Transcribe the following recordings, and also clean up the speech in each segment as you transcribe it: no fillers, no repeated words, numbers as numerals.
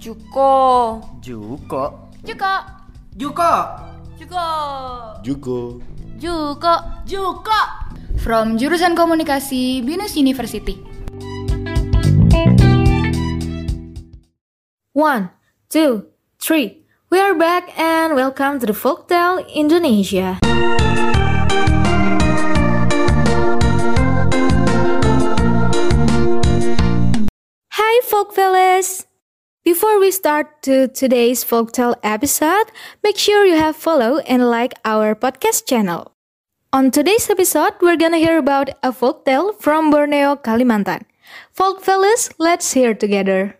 Juko. Juko. Juko. Juko. Juko. Juko. Juko. Juko. From jurusan Komunikasi BINUS University. 1, 2, 3. We are back and welcome to the Folktale Indonesia. Hi Folkfellas! Before we start to today's Folktale episode, make sure you have follow and like our podcast channel. On today's episode, we're gonna hear about a folktale from Borneo, Kalimantan. Folkfellas, let's hear together.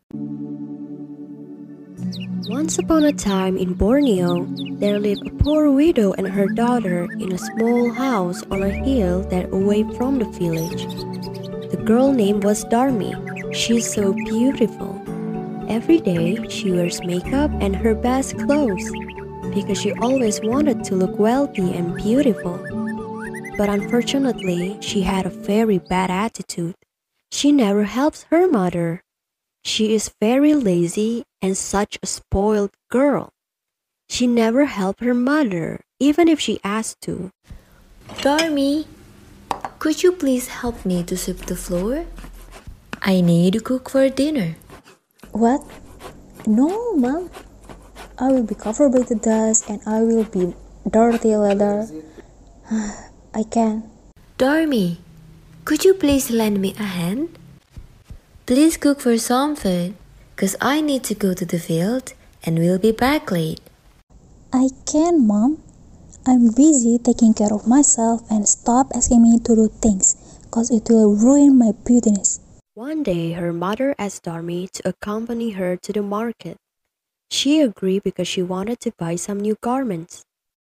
Once upon a time in Borneo, there lived a poor widow and her daughter in a small house on a hill that away from the village. The girl name was Darmi. She's so beautiful. Every day, she wears makeup and her best clothes because she always wanted to look wealthy and beautiful. But unfortunately, she had a very bad attitude. She never helps her mother. She is very lazy and such a spoiled girl. She never helped her mother, even if she asked to. Darmi, could you please help me to sweep the floor? I need to cook for dinner. What? No, Mom. I will be covered by the dust and I will be dirty leather. I can't. Darmi, could you please lend me a hand? Please cook for some food, cause I need to go to the field and will be back late. I can, Mom. I'm busy taking care of myself and stop asking me to do things, cause it will ruin my beautiness. One day, her mother asked Darmi to accompany her to the market. She agreed because she wanted to buy some new garments.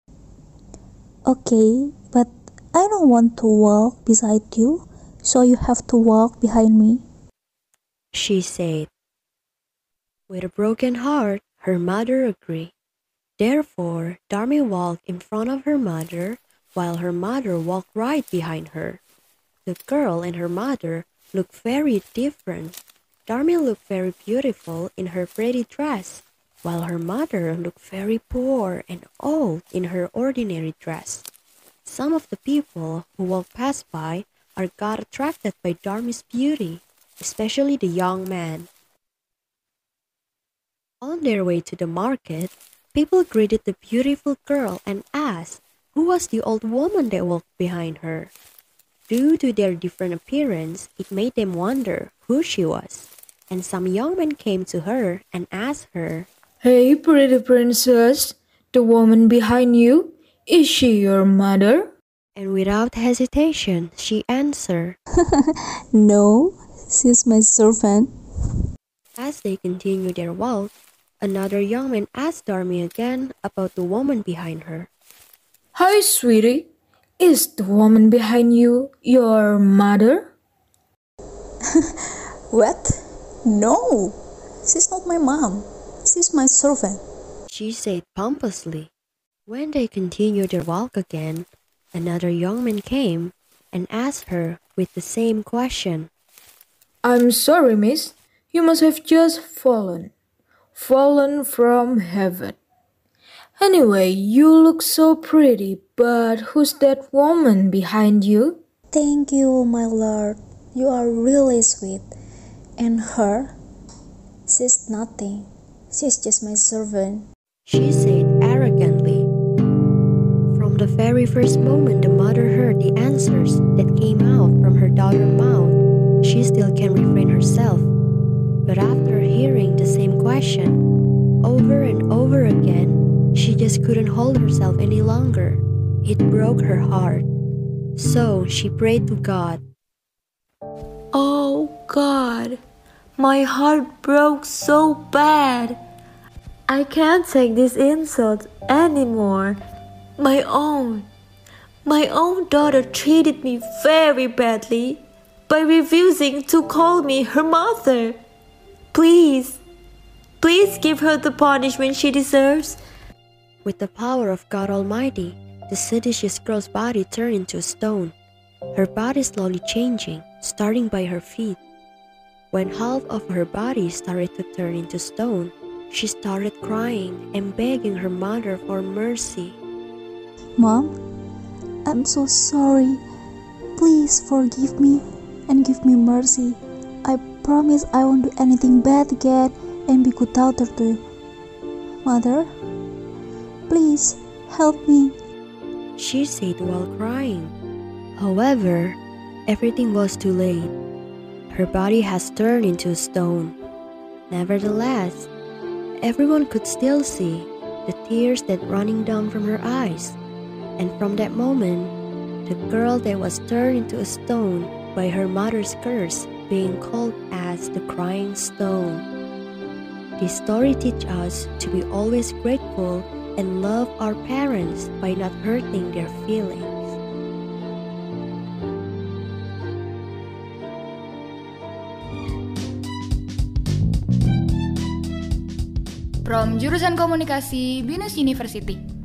Okay, but I don't want to walk beside you, so you have to walk behind me. She said. With a broken heart, her mother agreed. Therefore, Darmi walked in front of her mother, while her mother walked right behind her. The girl and her mother looked very different. Darmi looked very beautiful in her pretty dress, while her mother looked very poor and old in her ordinary dress. Some of the people who walked past by got attracted by Darmi's beauty, especially the young man. On their way to the market, people greeted the beautiful girl and asked who was the old woman that walked behind her. Due to their different appearance, it made them wonder who she was. And some young men came to her and asked her, Hey, pretty princess, the woman behind you, is she your mother? And without hesitation, she answered, No, she's my servant. As they continued their walk, another young man asked Darmi again about the woman behind her. Hi, sweetie, is the woman behind you your mother? What? No, she's not my mom. She's my servant. She said pompously. When they continued their walk again, another young man came and asked her with the same question. I'm sorry, miss. You must have just fallen from heaven. Anyway, you look so pretty, but who's that woman behind you? Thank you, my lord. You are really sweet. And her? She's nothing. She's just my servant. She said arrogantly. From the very first moment the mother heard the answers that came out from her daughter's mouth, she still can't refrain herself. But after hearing the same question over and over again, she just couldn't hold herself any longer. It broke her heart. So she prayed to God. Oh God, my heart broke so bad. I can't take this insult anymore. My own daughter treated me very badly by refusing to call me her mother. Please give her the punishment she deserves. With the power of God Almighty, the seditious girl's body turned into a stone. Her body slowly changing, starting by her feet. When half of her body started to turn into stone, she started crying and begging her mother for mercy. Mom, I'm so sorry. Please forgive me and give me mercy. I promise I won't do anything bad again and be good daughter to you. Mother, please help me. She said while crying. However, everything was too late. Her body has turned into a stone. Nevertheless, everyone could still see the tears that running down from her eyes. And from that moment, the girl that was turned into a stone by her mother's curse being called as the crying stone. This story teaches us to be always grateful and love our parents by not hurting their feelings. From Jurusan Komunikasi, Binus University.